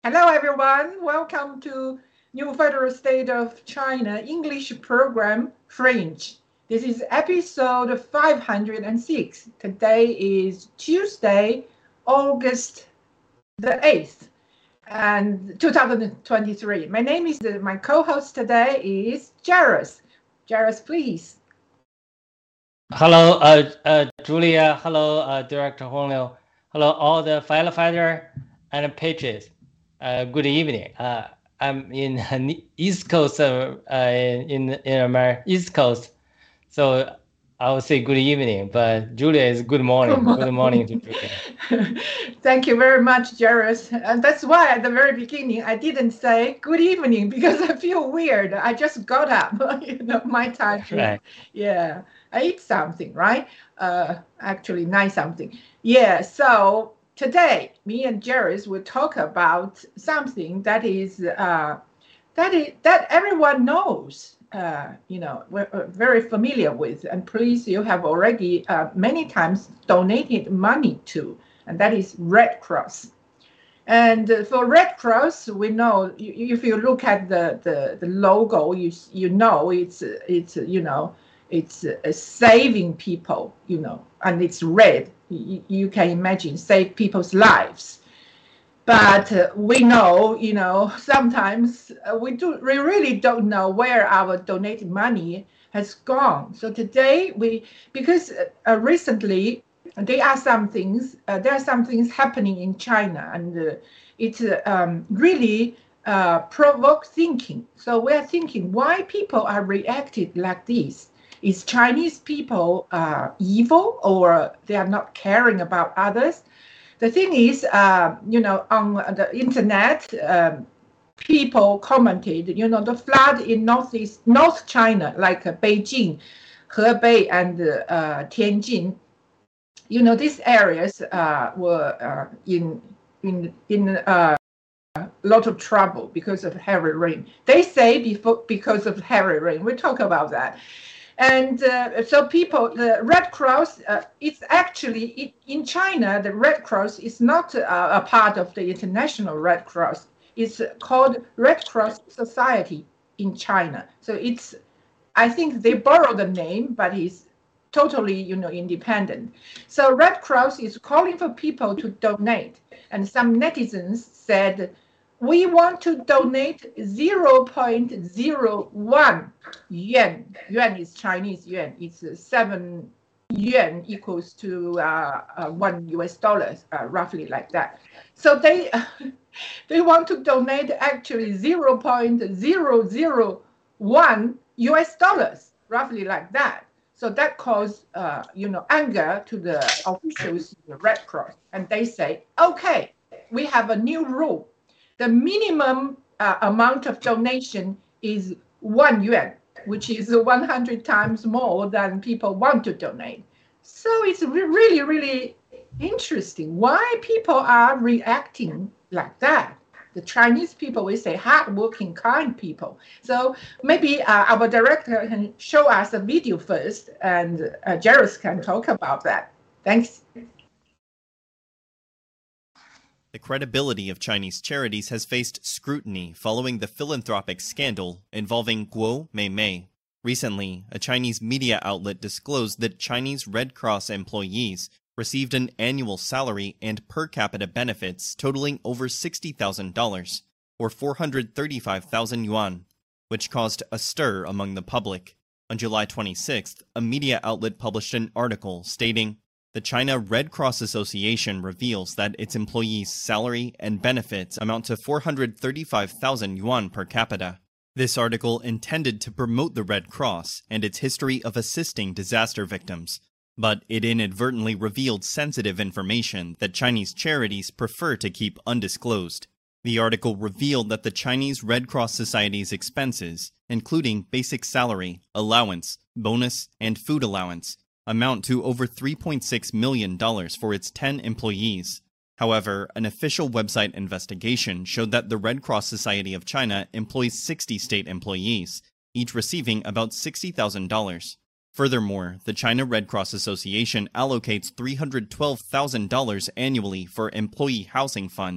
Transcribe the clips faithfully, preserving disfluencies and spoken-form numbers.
Hello, everyone. Welcome to New Federal State of China English Program French. This is episode five hundred six. Today is Tuesday, August the eighth, and two thousand twenty-three. My name is, my co-host today is Jairus. Jairus, please. Hello, uh, uh, Julia. Hello, uh, Director Hong Liu. Hello, all the firefighter and patriots. Uh, good evening. Uh, I'm in uh, East Coast, uh, uh, in in America, East Coast, so I will say good evening. But Julia is good morning. Good morning, good morning to Julia. Thank you very much, Jairus. And that's why at the very beginning I didn't say good evening because I feel weird. I just got up, you know, my time. Right. Yeah, I ate something, right? Uh, actually, nine something. Yeah. So today, me and Jairus will talk about something that is uh, that is that everyone knows. Uh, you know, we're uh, very familiar with, and please, you have already uh, many times donated money to, and that is Red Cross. And uh, for Red Cross, we know you, if you look at the, the, the logo, you you know it's it's you know it's uh, saving people, you know, and it's red. You, you can imagine save people's lives. But uh, we know, you know, sometimes uh, we do we really don't know where our donated money has gone. So today we, because uh, recently there are some things, uh, there are some things happening in China, and uh, it uh, um, really uh, provokes thinking. So we're thinking why people are reacted like this. Is Chinese people uh, evil, or they are not caring about others? The thing is, uh, you know, on the internet, um, people commented, you know, the flood in northeast, North China, like uh, Beijing, Hebei, and uh, Tianjin, you know, these areas uh, were uh, in in in a uh, lot of trouble because of heavy rain. They say before because of heavy rain. We'll talk about that. And uh, so people, the Red Cross, uh, it's actually, it, in China, the Red Cross is not uh, a part of the International Red Cross. It's called Red Cross Society in China. So it's, I think they borrow the name, but it's totally, you know, independent. So Red Cross is calling for people to donate. And some netizens said, we want to donate zero point zero one yuan. Yuan is Chinese yuan. It's seven yuan equals to uh, uh, one U S dollars, uh, roughly like that. So they they want to donate actually zero point zero zero one U S dollars, roughly like that. So that caused, uh, you know, anger to the officials, the Red Cross, and they say, okay, we have a new rule. The minimum uh, amount of donation is one yuan, which is one hundred times more than people want to donate. So it's re really, really interesting why people are reacting like that. The Chinese people, we say hardworking, kind people. So maybe uh, our director can show us a video first, and uh, Jairus can talk about that. Thanks. The credibility of Chinese charities has faced scrutiny following the philanthropic scandal involving Guo Meimei. Recently, a Chinese media outlet disclosed that Chinese Red Cross employees received an annual salary and per capita benefits totaling over sixty thousand dollars, or four hundred thirty-five thousand yuan, which caused a stir among the public. On July twenty-sixth, a media outlet published an article stating, the China Red Cross Association reveals that its employees' salary and benefits amount to four hundred thirty-five thousand yuan per capita. This article intended to promote the Red Cross and its history of assisting disaster victims, but it inadvertently revealed sensitive information that Chinese charities prefer to keep undisclosed. The article revealed that the Chinese Red Cross Society's expenses, including basic salary, allowance, bonus, and food allowance, amount to over three point six million dollars for its ten employees. However, an official website investigation showed that the Red Cross Society of China employs sixty state employees, each receiving about sixty thousand dollars. Furthermore, the China Red Cross Association allocates three hundred twelve thousand dollars annually for employee housing funds,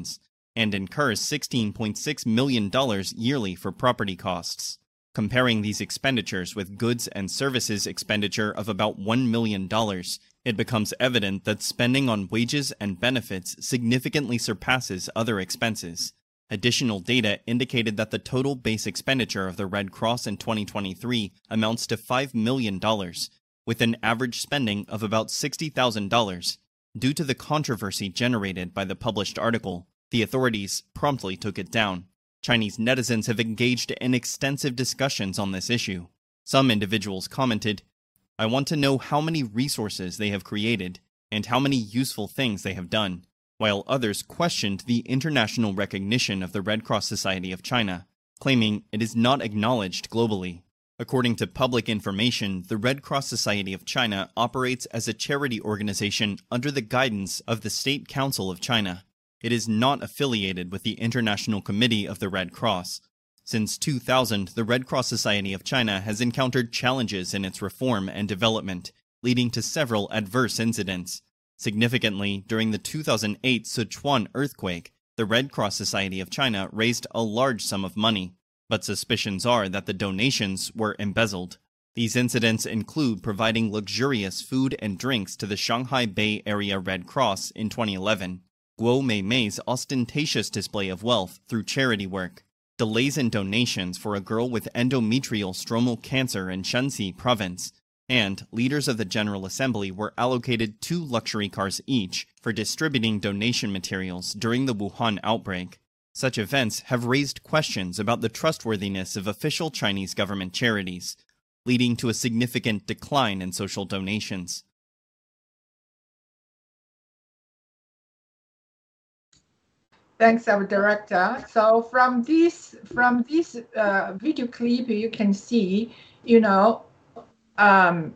and incurs sixteen point six million dollars yearly for property costs. Comparing these expenditures with goods and services expenditure of about one million dollars, it becomes evident that spending on wages and benefits significantly surpasses other expenses. Additional data indicated that the total base expenditure of the Red Cross in twenty twenty-three amounts to five million dollars, with an average spending of about sixty thousand dollars. Due to the controversy generated by the published article, the authorities promptly took it down. Chinese netizens have engaged in extensive discussions on this issue. Some individuals commented, "I want to know how many resources they have created and how many useful things they have done," while others questioned the international recognition of the Red Cross Society of China, claiming it is not acknowledged globally. According to public information, the Red Cross Society of China operates as a charity organization under the guidance of the State Council of China. It is not affiliated with the International Committee of the Red Cross. Since two thousand, the Red Cross Society of China has encountered challenges in its reform and development, leading to several adverse incidents. Significantly, during the two thousand eight Sichuan earthquake, the Red Cross Society of China raised a large sum of money, but suspicions are that the donations were embezzled. These incidents include providing luxurious food and drinks to the Shanghai Bay Area Red Cross in twenty eleven, Guo Meimei's ostentatious display of wealth through charity work, delays in donations for a girl with endometrial stromal cancer in Shanxi province, and leaders of the General Assembly were allocated two luxury cars each for distributing donation materials during the Wuhan outbreak. Such events have raised questions about the trustworthiness of official Chinese government charities, leading to a significant decline in social donations. Thanks, our director. So from this from this uh, video clip, you can see, you know, um,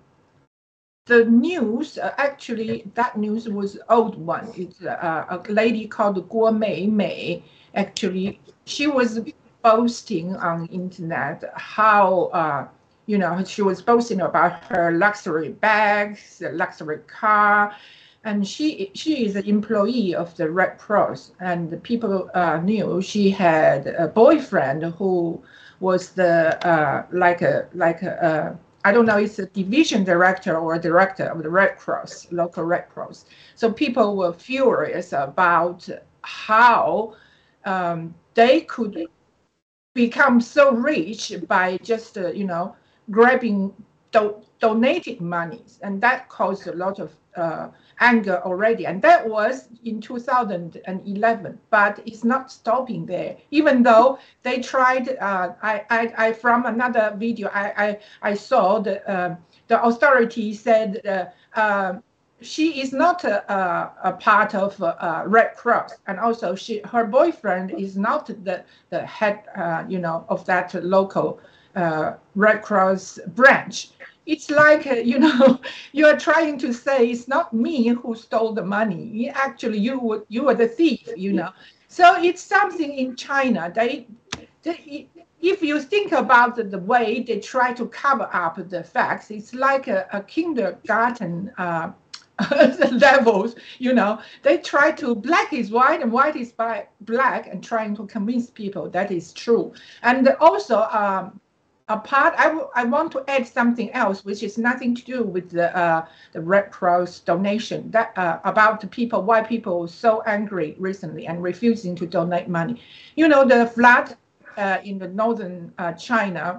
the news. Uh, actually, that news was old one. It's uh, a lady called Guo Meimei. Actually, she was boasting on the internet how, uh, you know, she was boasting about her luxury bags, luxury car. And she she is an employee of the Red Cross, and the people uh, knew she had a boyfriend who was the uh, like a like a uh, I don't know, it's a division director or a director of the Red Cross, local Red Cross. So people were furious about how um, they could become so rich by just uh, you know grabbing do donated monies, and that caused a lot of uh, anger already, and that was in two thousand eleven. But it's not stopping there. Even though they tried, uh, I, I, I from another video I, I, I saw the uh, the authority said uh, uh, she is not a, a, a part of uh, Red Cross, and also she her boyfriend is not the the head, uh, you know, of that local uh, Red Cross branch. It's like, uh, you know, you are trying to say it's not me who stole the money. Actually, you were, you were the thief, you know. So it's something in China. They, they if you think about the, the way they try to cover up the facts, it's like a, a kindergarten uh, levels, you know. They try to black is white and white is black and trying to convince people that is true. And also, um, apart, I, I want to add something else, which is nothing to do with the uh, the Red Cross donation. That uh, about the people, why people were so angry recently and refusing to donate money. You know, the flood uh, in the northern uh, China.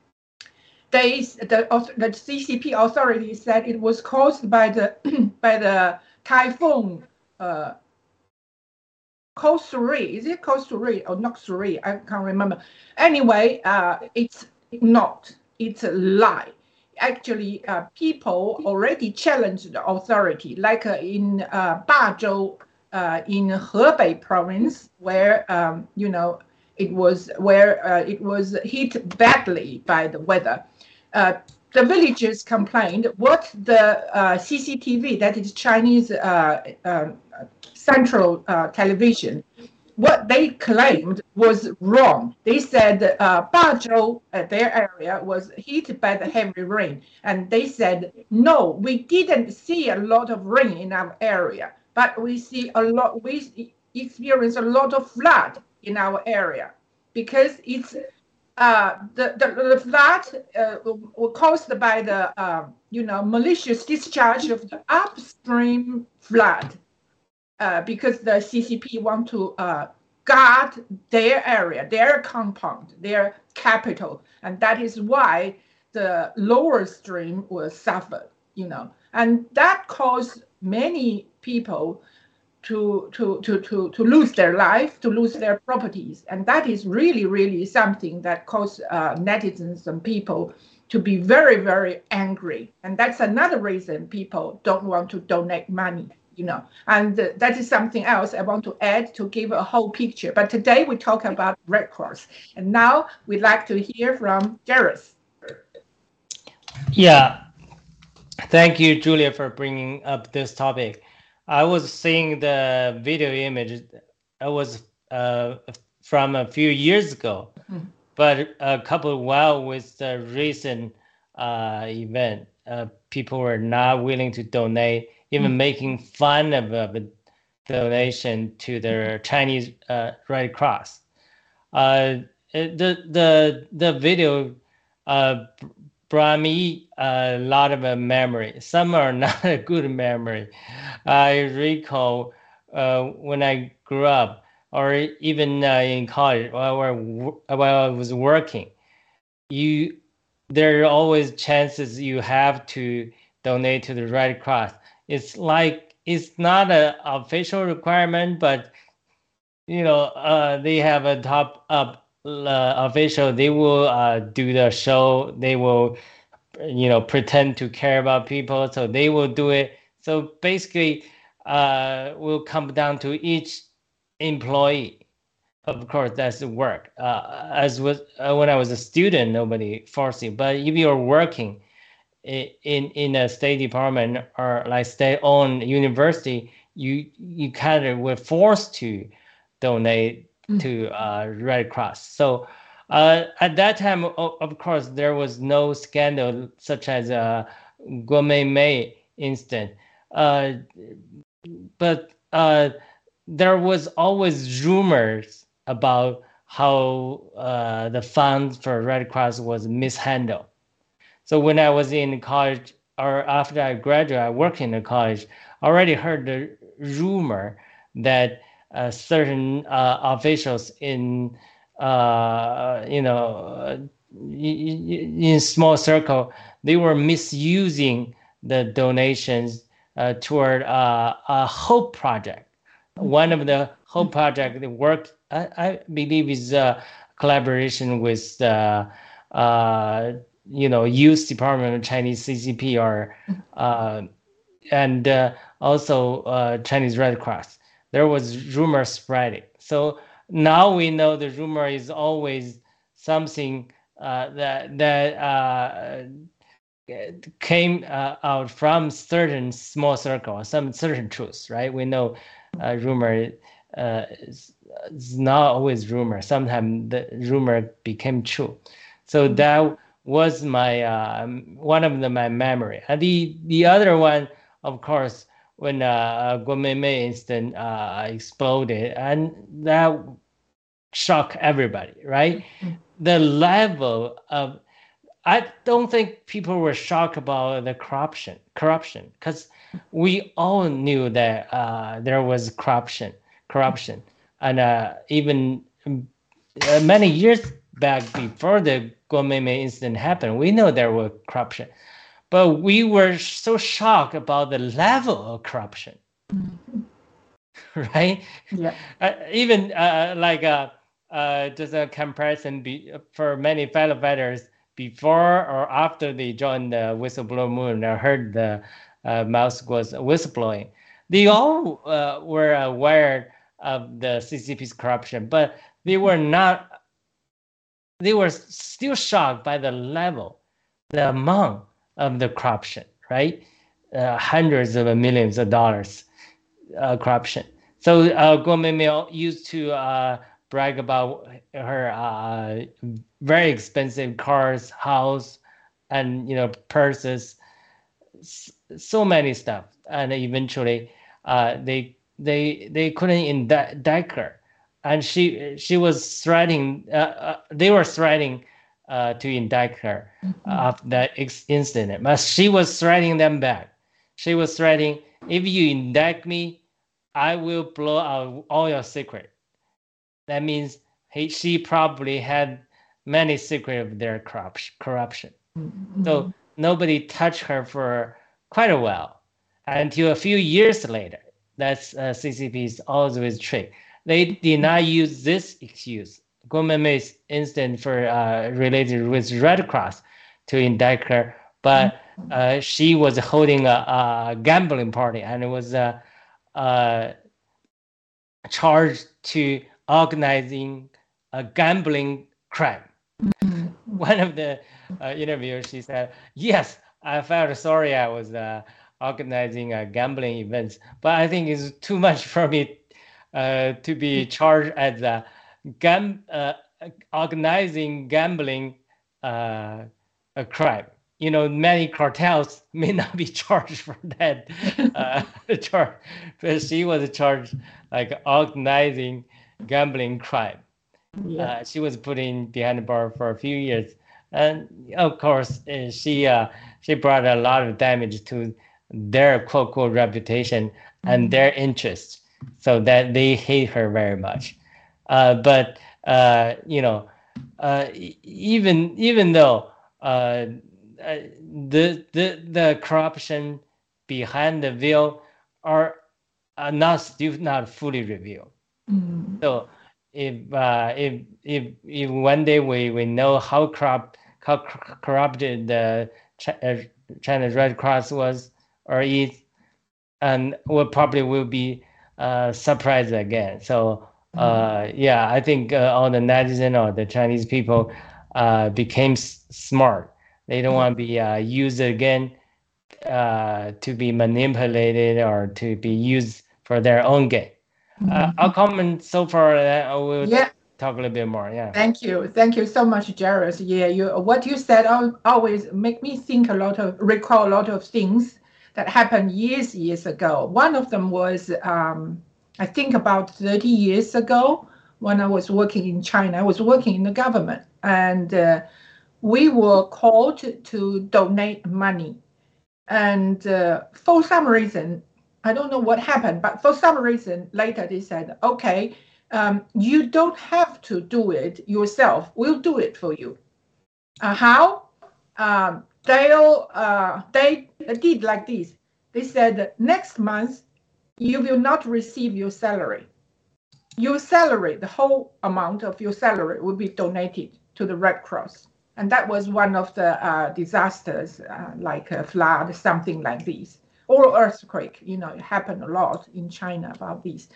They the the C C P authorities said it was caused by the by the typhoon. Uh, Kosuri, is it Kosuri or not Suri? I can't remember. Anyway, uh, it's not. It's a lie. Actually, uh, people already challenged the authority, like uh, in uh, Dazhou, uh, in Hebei province, where um, you know it was where uh, it was hit badly by the weather. Uh, the villagers complained what the uh, C C T V, that is Chinese uh, uh, Central uh, Television, what they claimed was wrong. They said uh, Dazhou, uh, their area, was hit by the heavy rain. And they said, no, we didn't see a lot of rain in our area, but we see a lot, we experience a lot of flood in our area because it's uh, the, the, the flood uh, were caused by the, uh, you know, malicious discharge of the upstream flood uh, because the C C P want to uh, guard their area, their compound, their capital. And that is why the lower stream will suffer, you know, and that caused many people to, to, to, to, to lose their life, to lose their properties. And that is really, really something that caused uh, netizens and people to be very, very angry. And that's another reason people don't want to donate money, you know. And uh, that is something else I want to add to give a whole picture. But today we talk about Red Cross. And now we'd like to hear from Jairus. Yeah. Thank you, Julia, for bringing up this topic. I was seeing the video image. It was uh, from a few years ago, mm-hmm. but a couple while with the recent uh, event, uh, people were not willing to donate, even mm-hmm. making fun of a donation to the Chinese uh, Red Cross. Uh, the the the video uh, brought me a lot of a memory. Some are not a good memory. I recall uh, when I grew up, or even uh, in college, while, while I was working, you there are always chances you have to donate to the Red Cross. It's like it's not an official requirement, but you know uh, they have a top up uh, official. They will uh, do the show. They will. You know, pretend to care about people, so they will do it. So basically, uh, will come down to each employee. Of course, that's the work. Uh, as was uh, when I was a student, nobody forced you. But if you're working in in, in a State Department or like state-owned university, you you kind of were forced to donate mm. to uh, Red Cross. So. Uh, at that time, of, of course, there was no scandal such as a Guo Meimei incident, uh, but uh, there was always rumors about how uh, the funds for Red Cross was mishandled. So when I was in college, or after I graduated, I worked in the college. I already heard the rumor that uh, certain uh, officials in Uh, you know, in small circle, they were misusing the donations uh, toward uh, a Hope Project. One of the Hope Project that worked, I, I believe, is a collaboration with the, uh, you know, Youth Department of Chinese C C P or, uh, and uh, also uh, Chinese Red Cross. There was rumor spreading. So now we know the rumor is always something uh, that that uh, came uh, out from certain small circle, some certain truths, right? We know uh, rumor uh, is, is not always rumor. Sometimes the rumor became true. So that was my uh, one of the, my memory. And the the other one, of course, when uh, Guo Meimei incident uh, exploded, and that shocked everybody, right? Mm-hmm. The level of, I don't think people were shocked about the corruption, corruption, because we all knew that uh, there was corruption, corruption, and uh, even uh, many years back before the Guo Meimei incident happened, we know there was corruption. But we were so shocked about the level of corruption, mm-hmm. right? Yeah. Uh, even uh, like uh, uh, just a comparison be, for many firefighters before or after they joined the whistleblower movement, I heard the uh, mouse was whistleblowing. They all uh, were aware of the C C P's corruption, but they were not. They were still shocked by the level, the amount of the corruption, right? Uh, hundreds of millions of dollars uh, corruption. So uh, Guo Meimei used to uh, brag about her uh, very expensive cars, house, and you know purses, so many stuff. And eventually, uh, they they they couldn't indict her, and she she was threatening. Uh, uh, they were threatening uh, to indict her Mm-hmm. after that incident, but she was threatening them back. She was threatening, if you indict me, I will blow out all your secret. That means he, she probably had many secrets of their corruption. Mm-hmm. So nobody touched her for quite a while, until a few years later. That's uh, C C P's always trick. They did not use this excuse, Guo Meimei's incident for uh, related with Red Cross, to indict her, but uh, she was holding a, a gambling party and was uh, uh, charged to organizing a gambling crime. Mm-hmm. One of the uh, interviewers, she said, "Yes, I felt sorry I was uh, organizing uh, gambling events, but I think it's too much for me uh, to be charged as a gam uh, organizing gambling uh, a crime. You know, many cartels may not be charged for that uh, charge, but she was charged like organizing gambling crime. Yeah. Uh, she was put in behind the bar for a few years, and of course, uh, she uh, she brought a lot of damage to their quote quote reputation and mm-hmm. their interests, so that they hate her very much. Uh, but uh, you know, uh, even even though uh, the the the corruption behind the veil are, are not still not fully revealed. Mm-hmm. So if uh, if if if one day we, we know how corrupt how corrupted the China's Red Cross was or is, and we probably will be uh, surprised again. So uh, yeah, I think uh, all the netizens or the Chinese people uh, became s smart. They don't want to be uh, used again uh, to be manipulated or to be used for their own gain. Uh, I'll comment so far. That I will yeah. talk a little bit more. Yeah. Thank you, thank you so much, Jairus. Yeah, you what you said always make me think a lot of recall a lot of things that happened years years ago. One of them was um, I think about thirty years ago when I was working in China. I was working in the government, and uh, we were called to, to donate money, and uh, for some reason. I don't know what happened, but for some reason later they said, okay, um, you don't have to do it yourself. We'll do it for you. Uh, how? Um, they'll, uh, they did like this. They said, next month, you will not receive your salary. Your salary, the whole amount of your salary will be donated to the Red Cross. And that was one of the uh, disasters, uh, like a flood, something like this. Or earthquake, you know, it happened a lot in China about this.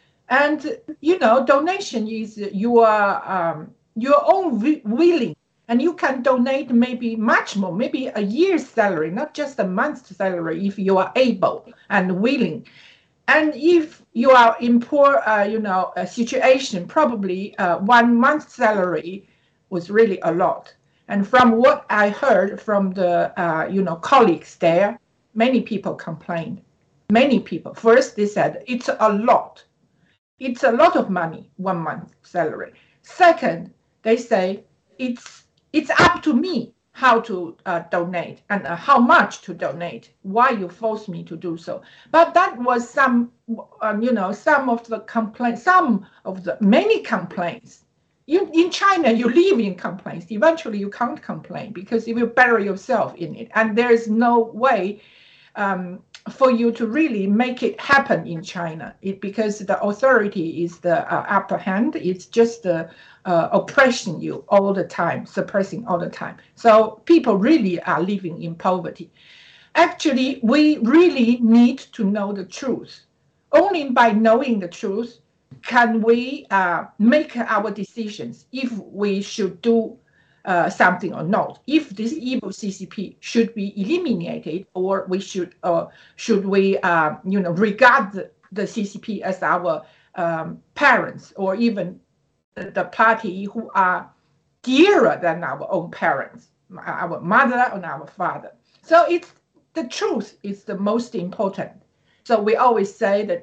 And, you know, donation is your, um, your own willing. And you can donate maybe much more, maybe a year's salary, not just a month's salary, if you are able and willing. And if you are in poor, uh, you know, a situation, probably uh, one month's salary was really a lot. And from what I heard from the, uh, you know, colleagues there, many people complained. Many people. First, they said, it's a lot. It's a lot of money, one month salary. Second, they say, it's it's up to me how to uh, donate and uh, how much to donate, why you force me to do so. But that was some, um, you know, some of the complaints, some of the many complaints. You, in China, you live in complaints. Eventually, you can't complain because you will bury yourself in it. And there is no way Um, for you to really make it happen in China, it, because the authority is the uh, upper hand. It's just the uh, oppressing you all the time, suppressing all the time. So people really are living in poverty. Actually, we really need to know the truth. Only by knowing the truth can we uh, make our decisions if we should do Uh, something or not, if this evil C C P should be eliminated, or we should, uh, should we, uh, you know, regard the, the C C P as our um, parents, or even the, the party who are dearer than our own parents, our mother and our father. So it's the truth is the most important. So we always say that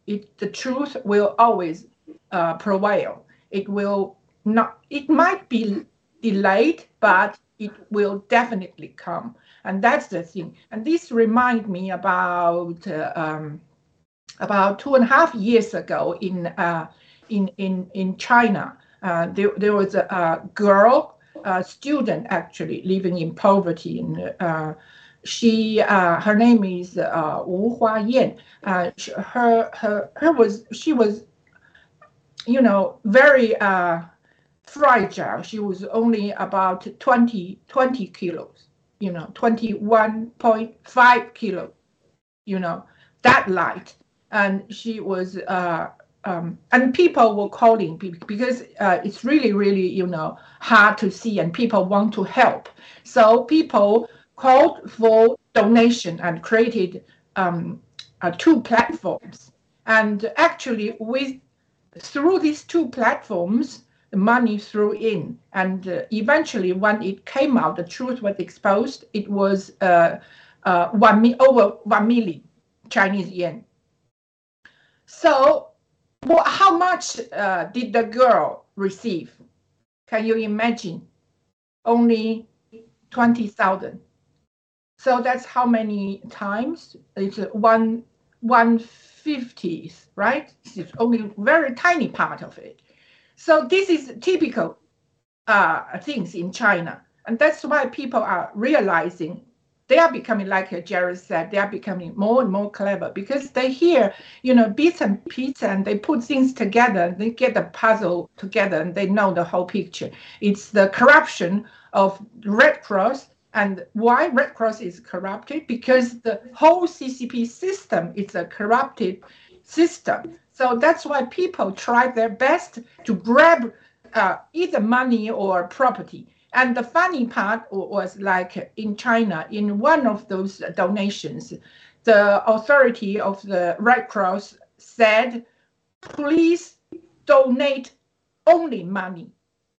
it, the truth will always uh, prevail. It will not, it might be delayed, but it will definitely come. And that's the thing. And this reminds me about uh, um, about two and a half years ago in uh, in in in China. Uh, there, there was a, a girl, a student actually living in poverty. And uh, she, uh, her name is uh, Wu Huayan. Uh, her, her, her was, she was, you know, very uh, fragile. She was only about twenty, twenty kilos, you know, twenty-one point five kilos, you know, that light. And she was, uh, um, and people were calling because uh, it's really, really, you know, hard to see, and people want to help. So people called for donation and created um, uh, two platforms. And actually, with through these two platforms, the money threw in. And uh, eventually, when it came out, the truth was exposed. It was uh, uh, one over one million Chinese yuan. So, well, how much uh, did the girl receive? Can you imagine? Only twenty thousand. So that's how many times? It's one one fiftieth, right? It's only a very tiny part of it. So this is typical uh, things in China, and that's why people are realizing. They are becoming, like Jerry said, they are becoming more and more clever because they hear, you know, bits and pieces, and they put things together. They get the puzzle together, and they know the whole picture. It's the corruption of Red Cross, and why Red Cross is corrupted? Because the whole C C P system is a corrupted system. So that's why people try their best to grab uh, either money or property. And the funny part was, like in China, in one of those donations, the authority of the Red Cross said, please donate only money.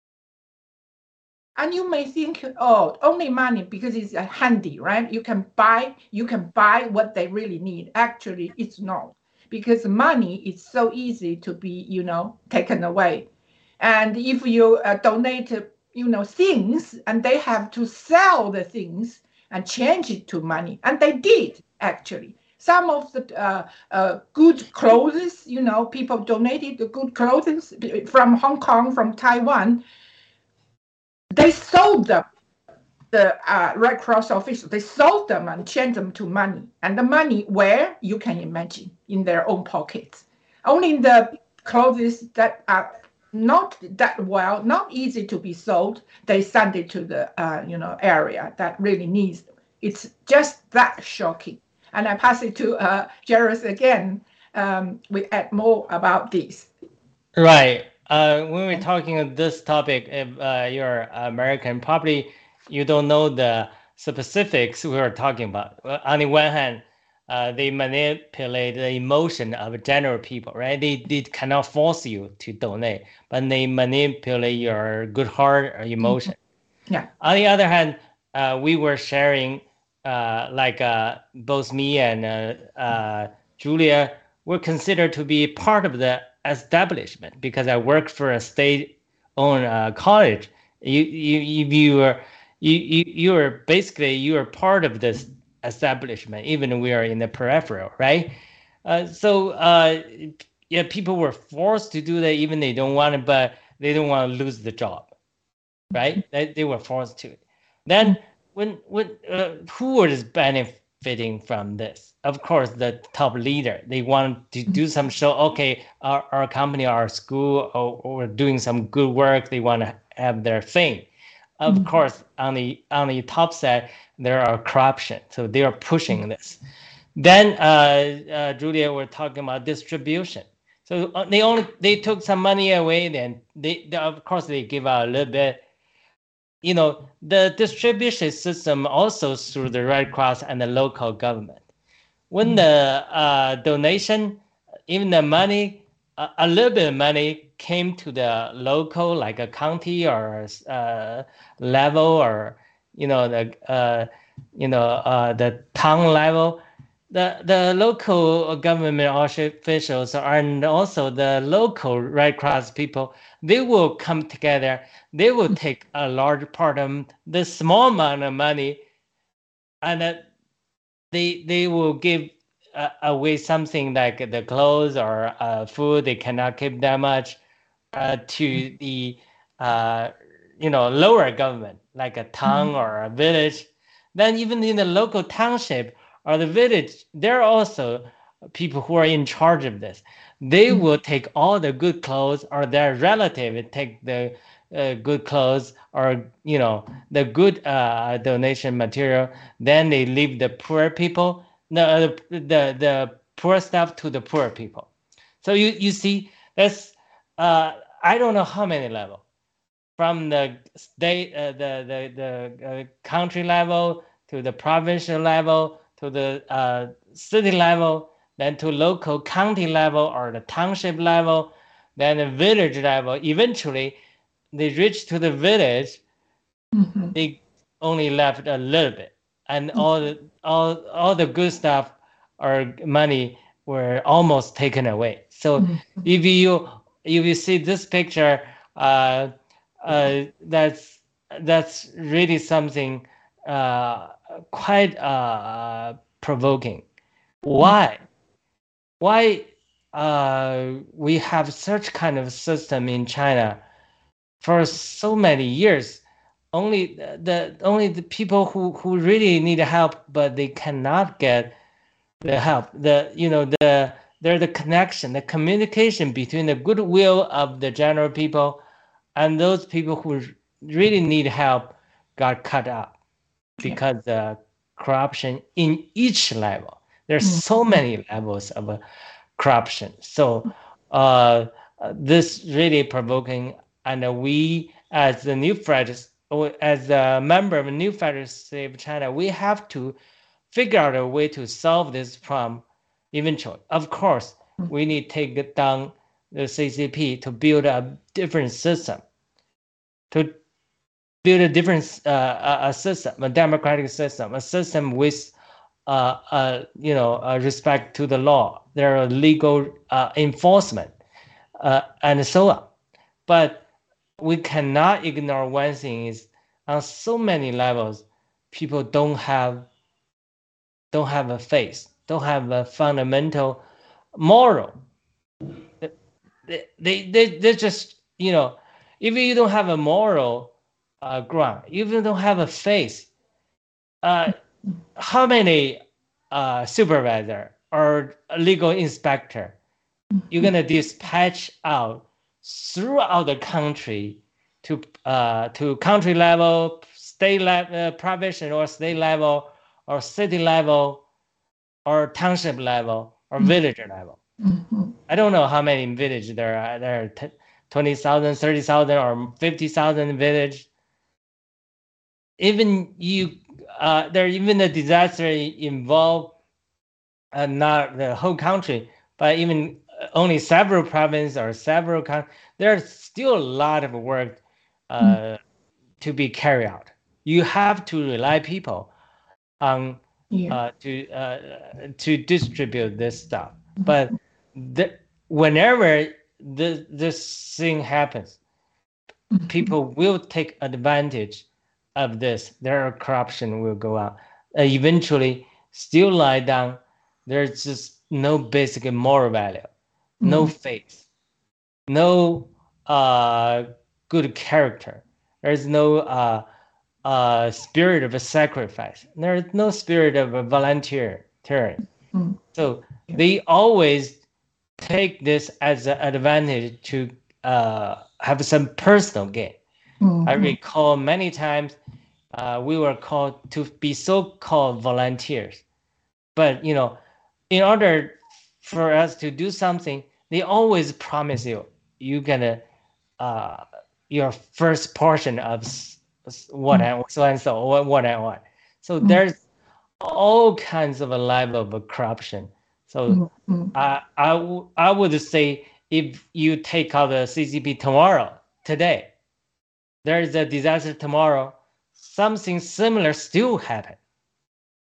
And you may think, oh, only money because it's handy, right? You can buy, you can buy what they really need. Actually, it's not, because money is so easy to be, you know, taken away. And if you uh, donate, you know, things, and they have to sell the things and change it to money. And they did, actually. Some of the uh, uh, good clothes, you know, people donated the good clothes from Hong Kong, from Taiwan. They sold them, the uh, Red Cross officials, they sold them and changed them to money. And the money, where? You can imagine, in their own pockets. Only the clothes that are not that well, not easy to be sold, they send it to the uh, you know, area that really needs them. It's just that shocking. And I pass it to uh, Jairus again. Um, we add more about this. Right. Uh, when we're talking on this topic, if uh, you're American, probably you don't know the specifics we are talking about. On the one hand, uh, they manipulate the emotion of general people, right? They, they cannot force you to donate, but they manipulate your good heart or emotion. Mm-hmm. Yeah. On the other hand, uh, we were sharing, uh, like uh, both me and uh, uh, Julia were considered to be part of the establishment because I worked for a state-owned uh, college. You, you, you, you were, you, you, you were basically you were part of this establishment, even we are in the peripheral, right? Uh, so uh, yeah, people were forced to do that, even they don't want it, but they don't want to lose the job, right? They, they were forced to. Then when when uh, who was benefiting from this? Of course, the top leader. They want to do some show. Okay, our, our company, our school, or, or doing some good work. They want to have their fame. Of mm-hmm. course, on the on the top side, there are corruption. So they are pushing this. Then uh, uh, Julia were talking about distribution. So they only they took some money away. Then they, they of course they give out a little bit. You know, the distribution system also through the Red Cross and the local government. When the uh, donation, even the money, uh, a little bit of money came to the local, like a county or uh, level, or you know the uh, you know uh, the town level, the the local government officials and also the local Red Cross people, they will come together. They will take a large part of the small amount of money, and uh, they they will give uh, away something like the clothes or uh, food. They cannot keep that much uh, to the uh, you know lower government, like a town or a village. Then even in the local township or the village, there are also people who are in charge of this. They will take all the good clothes, or their relative take the uh, good clothes, or you know the good uh, donation material. Then they leave the poor people, the the the poor stuff to the poor people. So you you see, that's uh, I don't know how many level, from the state, uh, the the the uh, country level to the provincial level to the uh, city level, then to local county level or the township level, then the village level. Eventually, they reach to the village. Mhm. They only left a little bit, and all the all all the good stuff or money were almost taken away. So Mhm. if you if you see this picture, uh, uh, that's that's really something uh, quite uh, provoking. Why? Why uh, we have such kind of system in China for so many years? Only the, the only the people who who really need help, but they cannot get the help. The you know the there's the connection, the communication between the goodwill of the general people and those people who really need help got cut out Yeah. because the corruption in each level. There's Mm. so many levels of uh, corruption. So uh, uh, this really provoking, and uh, we as the new federal, as a member of the new federal state of China, we have to figure out a way to solve this problem eventually. Of course, we need to take down the C C P to build a different system, to build a different uh, a, a system, a democratic system, a system with uh, uh, you know uh, respect to the law. There are legal uh, enforcement uh, and so on. But we cannot ignore one thing: is on so many levels, people don't have don't have a faith, don't have a fundamental moral. They they they they just you know, if you don't have a moral uh, ground, if you don't have a faith, uh, how many uh, supervisor or legal inspector you're gonna dispatch out throughout the country to uh, to country level, state level, uh, provincial or state level, or city level, or township level, or village level? Mhm. I don't know how many village there are. There are twenty thousand, thirty thousand, or fifty thousand village. Even you, uh, there even a disaster involved uh, not the whole country, but even only several provinces or several countries. There's still a lot of work uh, to be carried out. You have to rely people on Yeah. uh, to uh, to distribute this stuff. But the, whenever this this thing happens, people will take advantage of this. Their corruption will go out. Uh, eventually, still lie down. There's just no basic moral value, no Mm. faith, no uh, good character. There's no uh, uh, spirit of a sacrifice. There's no spirit of a volunteer. Mm. So Yeah. they always take this as an advantage to uh, have some personal gain. I Mhm. recall many times uh, we were called to be so-called volunteers, but you know, in order for us to do something, they always promise you you're gonna uh, your first portion of what and so and so what what and what. So Mm. there's all kinds of a level of corruption. So Mm. Mm. I I, w- I would say if you take out the C C P tomorrow, today, there is a disaster tomorrow, something similar still happen.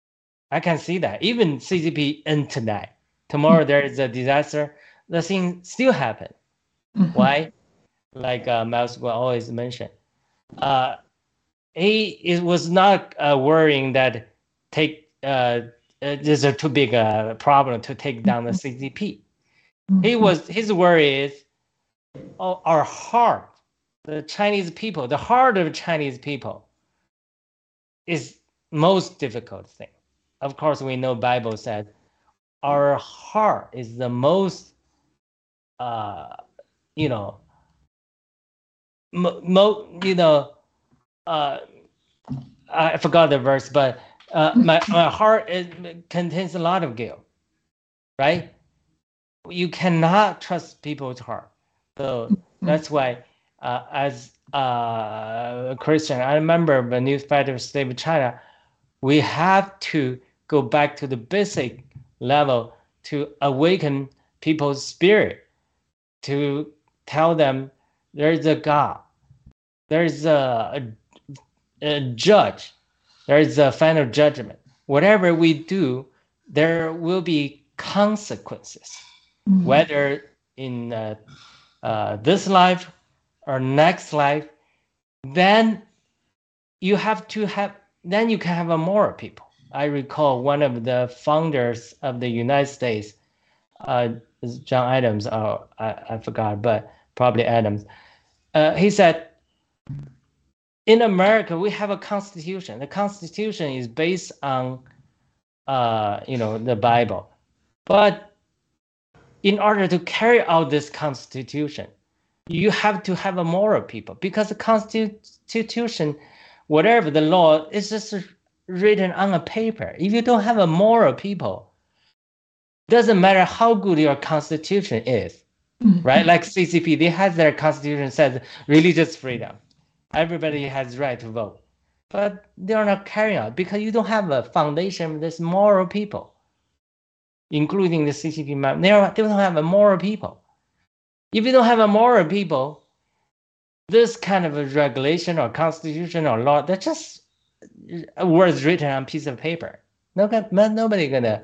I can see that. Even C C P and tonight, tomorrow there is a disaster, the thing still happen. Mm-hmm. Why? Like uh, Miles will always mention, uh, he it was not uh, worrying that take uh, this is a too big a problem to take down the C C P. Mm-hmm. He was his worry is, oh, our heart, the Chinese people, the heart of Chinese people, is most difficult thing. Of course, we know Bible says our heart is the most, uh, you know, mo, mo you know, uh, I forgot the verse, but uh, my my heart is, contains a lot of guilt, right? You cannot trust people's heart, so that's why, uh, as a Christian, I remember when New Federal State of China, we have to go back to the basic level to awaken people's spirit, to tell them there's a God, there's a, a, a judge, there's a final judgment. Whatever we do, there will be consequences, mm-hmm. whether in uh, uh, this life or next life. Then you have to have, then you can have a moral people. I recall one of the founders of the United States, uh, John Adams, or I, I forgot, but probably Adams. Uh, he said, in America, we have a constitution. The constitution is based on, uh, you know, the Bible. But in order to carry out this constitution, you have to have a moral people, because the constitution, whatever the law, is just written on a paper. If you don't have a moral people, doesn't matter how good your constitution is, mm-hmm. right? Like C C P, they have their constitution says religious freedom. Everybody has right to vote, but they are not carrying out because you don't have a foundation of this moral people, including the C C P. They, are, they don't have a moral people. If you don't have a moral people, this kind of a regulation or constitution or law, that's just words written on a piece of paper. Nobody, nobody gonna,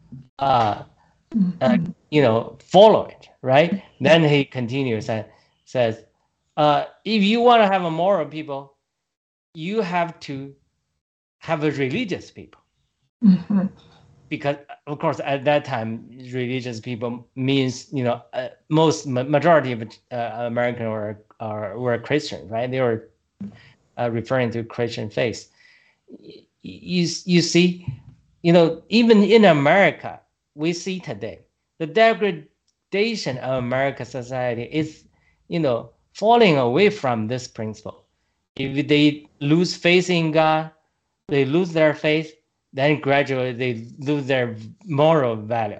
uh, uh, you know, follow it, right? Then he continues and says, uh, if you want to have a moral people, you have to have a religious people. Mm-hmm. Because, of course, at that time, religious people means, you know, uh, most majority of uh, American were, are, were Christian, right? They were uh, referring to Christian faith. You, you see, you know, even in America, we see today, the degradation of American society is, you know, falling away from this principle. If they lose faith in God, they lose their faith, then gradually they lose their moral value.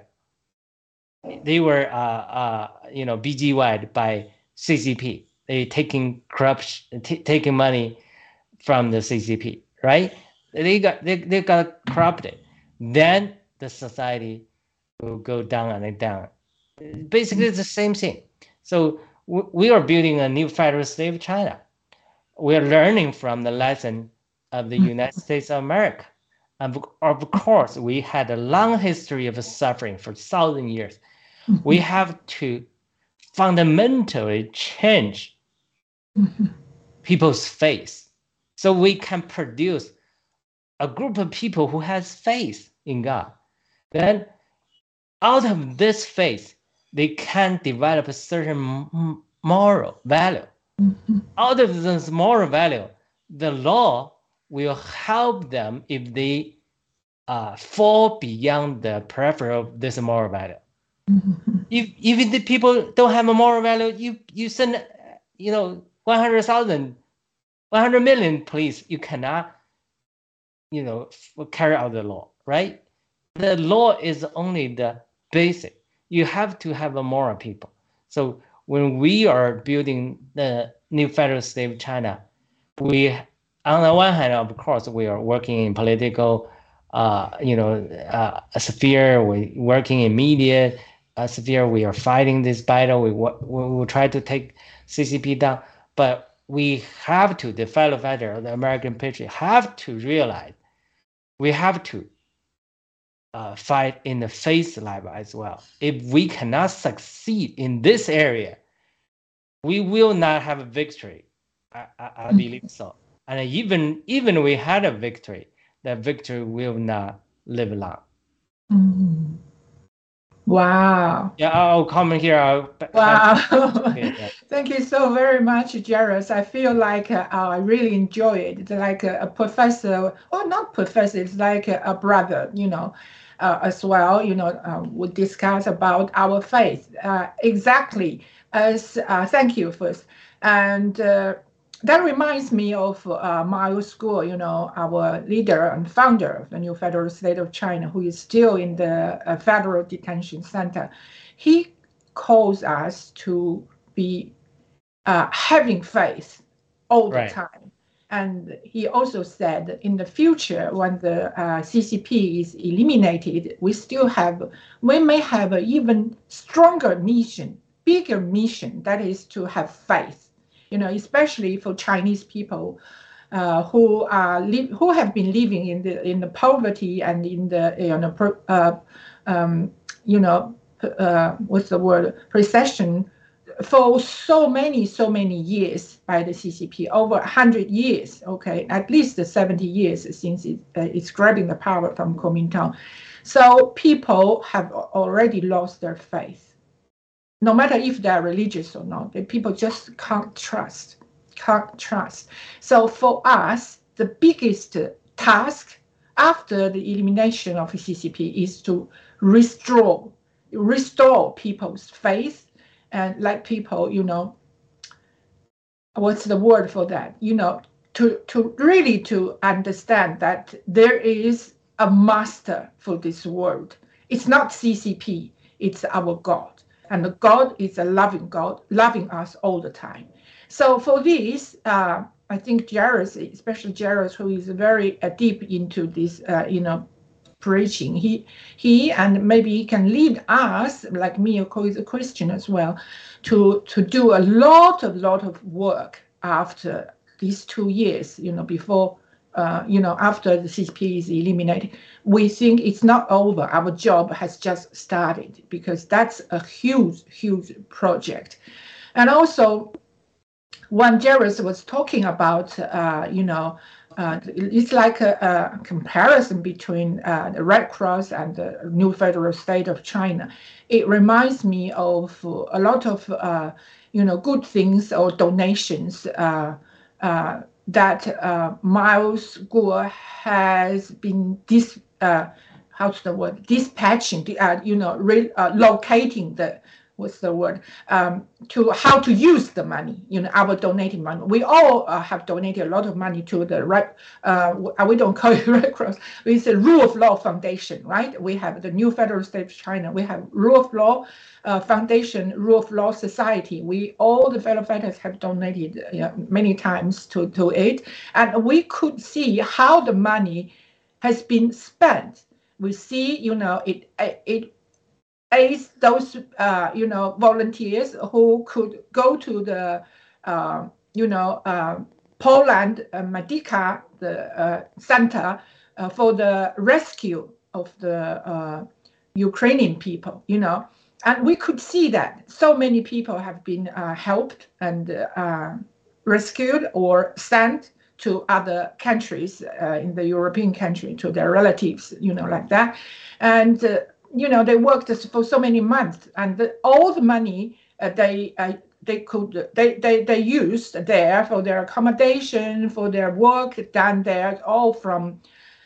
They were, uh, uh, you know, B G Y'd by C C P. They taking corruption, taking money from the C C P, right? They got they, they got corrupted. Then the society will go down and down. Basically, it's the same thing. So we are building a new federal state of China. We are learning from the lesson of the United States of America. And of course, we had a long history of suffering for thousand years. We have to fundamentally change people's faith so we can produce a group of people who has faith in God. Then out of this faith, they can develop a certain moral value. Mm-hmm. Out of this moral value, the law will help them if they uh, fall beyond the peripheral of this moral value. Mm-hmm. If if the people don't have a moral value, you you send, you know, one hundred thousand, one hundred million police, you cannot, you know, carry out the law, right? The law is only the basic. You have to have a moral people. So when we are building the new federal state of China, we, on the one hand, of course, we are working in political, uh, you know, uh, sphere. We're working in media uh, sphere. We are fighting this battle. We we will try to take C C P down, but we have to, the fellow fighter, the American patriot, have to realize we have to uh, fight in the face lab as well. If we cannot succeed in this area, we will not have a victory. I, I, I believe so. And even even we had a victory, that victory will not live long. Mm-hmm. Wow. Yeah, I'll comment here. I'll wow. yeah. Thank you so very much, Jairus. I feel like uh, I really enjoy it. It's like a, a professor, or not professor, it's like a, a brother, you know, uh, as well. You know, uh, we discuss about our faith. Uh, exactly. As uh, thank you first. And uh, that reminds me of uh, Miles Guo, you know, our leader and founder of the new federal state of China, who is still in the uh, federal detention center. He calls us to be uh, having faith all the Right. time. And he also said that in the future, when the uh, C C P is eliminated, we still have, we may have an even stronger mission, bigger mission, that is to have faith. You know, especially for Chinese people uh, who are li- who have been living in the in the poverty and in the you know pro, uh, um, you know uh, what's the word recession for so many so many years by the C C P, over a hundred years. Okay, at least seventy years since it, uh, it's grabbing the power from Kuomintang. So people have already lost their faith. No matter if they're religious or not, people just can't trust, can't trust. So for us, the biggest task after the elimination of the C C P is to restore, restore people's faith and let people, you know, what's the word for that? You know, to, to really to understand that there is a master for this world. It's not C C P, it's our God. And God is a loving God, loving us all the time. So for this, uh, I think Jairus, especially Jairus, who is very uh, deep into this, uh, you know, preaching, he, he and maybe he can lead us, like me, who is a Christian as well, to to do a lot of lot of work after these two years, you know, before. Uh, you know, after the C C P is eliminated, we think it's not over. Our job has just started, because that's a huge, huge project. And also, when Jairus was talking about, uh, you know, uh, it's like a, a comparison between uh, the Red Cross and the new federal state of China. It reminds me of a lot of, uh, you know, good things or donations uh, uh, that uh, Miles Guo has been dis, uh, how's the word, dispatching, uh, you know, re, uh, locating the, what's the word, um, to how to use the money, you know, our donating money. We all uh, have donated a lot of money to the right, uh, we don't call it Red Cross, it's the Rule of Law Foundation, right? We have the new federal state of China, we have Rule of Law uh, Foundation, Rule of Law Society. We, all the fellow fighters have donated you know, many times to, to it. And we could see how the money has been spent. We see, you know, it, it, aids those uh, you know volunteers who could go to the uh, you know uh, Poland uh, Medica the uh, center uh, for the rescue of the uh, Ukrainian people, you know, and we could see that so many people have been uh, helped and uh, rescued or sent to other countries uh, in the European country, to their relatives, you know, like that, and. Uh, You know, they worked for so many months, and the, all the money uh, they uh, they could they, they they used there for their accommodation, for their work done there, all from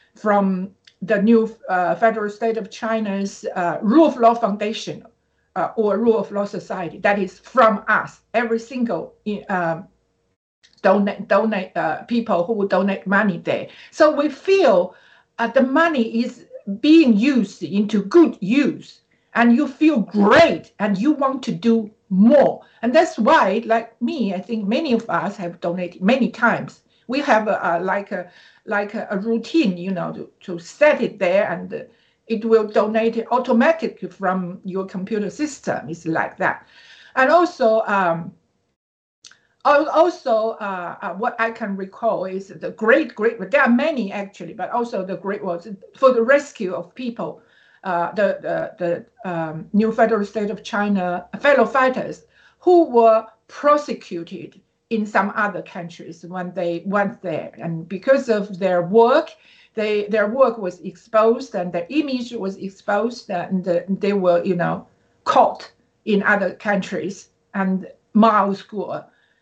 from the new uh, federal state of China's uh, Rule of Law Foundation uh, or Rule of Law Society. That is from us, every single uh, donate donate uh, people who would donate money there. So we feel uh, the money is being used into good use, and you feel great and you want to do more. And that's why, like me, I think many of us have donated many times. We have a, a like a like a, a routine, you know, to, to set it there, and uh, it will donate it automatically from your computer system. It's like that. And also um Also, uh, uh, what I can recall is the great, great, there are many actually, but also the great ones for the rescue of people uh, the the, the um, new federal state of China fellow fighters who were prosecuted in some other countries when they went there, and because of their work, they their work was exposed and their image was exposed, and they were, you know, caught in other countries. And Mao School,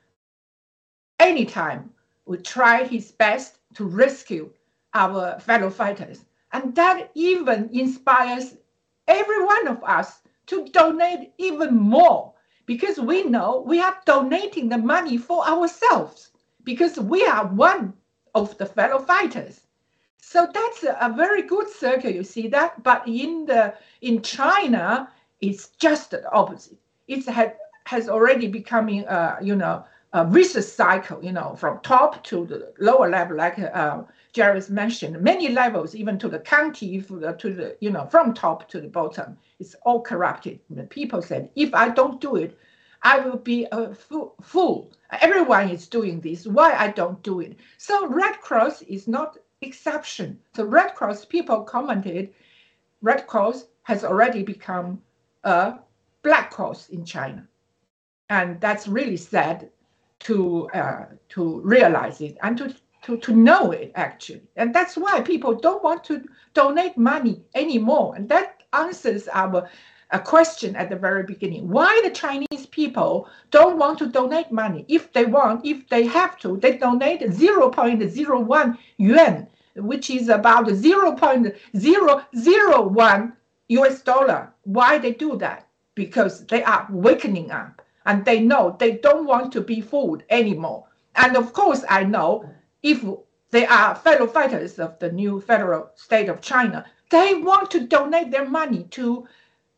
anytime, would try his best to rescue our fellow fighters, and that even inspires every one of us to donate even more, because we know we are donating the money for ourselves, because we are one of the fellow fighters. So that's a, a very good circle, you see that. But in the in China, it's just the opposite. It had, has already becoming, uh, you know, a vicious cycle, you know, from top to the lower level, like uh, Jairus mentioned, many levels, even to the county, to the, you know, from top to the bottom. It's all corrupted. The people said, if I don't do it, I will be a fool. Everyone is doing this. Why I don't do it? So Red Cross is not exception. The Red Cross people commented, Red Cross has already become a Black Cross in China. And that's really sad to uh, to realize it and to, to, to know it, actually. And that's why people don't want to donate money anymore. And that answers our a question at the very beginning. Why the Chinese people don't want to donate money? If they want, if they have to, they donate zero point zero one yuan, which is about zero point zero zero one U S dollar. Why they do that? Because they are wakening up and they know they don't want to be fooled anymore. And of course, I know if they are fellow fighters of the new federal state of China, they want to donate their money to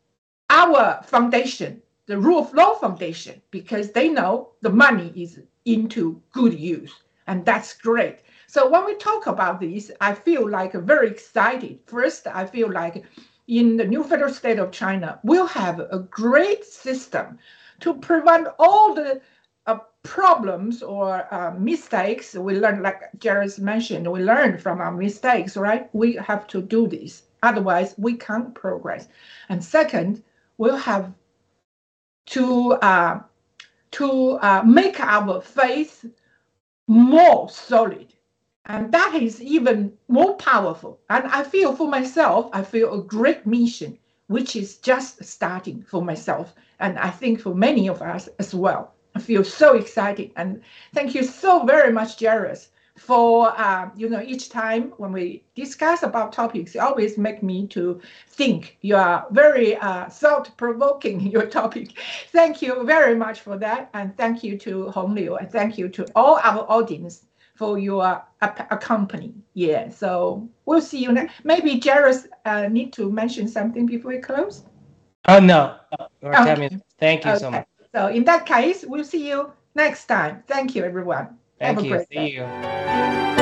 our foundation, the Rule of Law Foundation, because they know the money is into good use, and that's great. So when we talk about this, I feel like very excited. First, I feel like in the new federal state of China, we'll have a great system to prevent all the uh, problems or uh, mistakes. We learn, like Jairus mentioned, we learn from our mistakes, right? We have to do this. Otherwise, we can't progress. And second, we'll have to uh, to uh, make our faith more solid, and that is even more powerful. And I feel for myself, I feel a great mission, which is just starting for myself, and I think for many of us as well. I feel so excited, and thank you so very much, Jairus, for uh, you know, each time when we discuss about topics, you always make me to think. You are very uh, thought-provoking in your topic. Thank you very much for that, and thank you to Hong Liu, and thank you to all our audience for your accompanying. Yeah, so we'll see you next. Maybe Jairus uh, need to mention something before we close. Oh no, okay. Thank you okay. so much. So in that case, we'll see you next time. Thank you, everyone. Thank Have you. a great See day. you.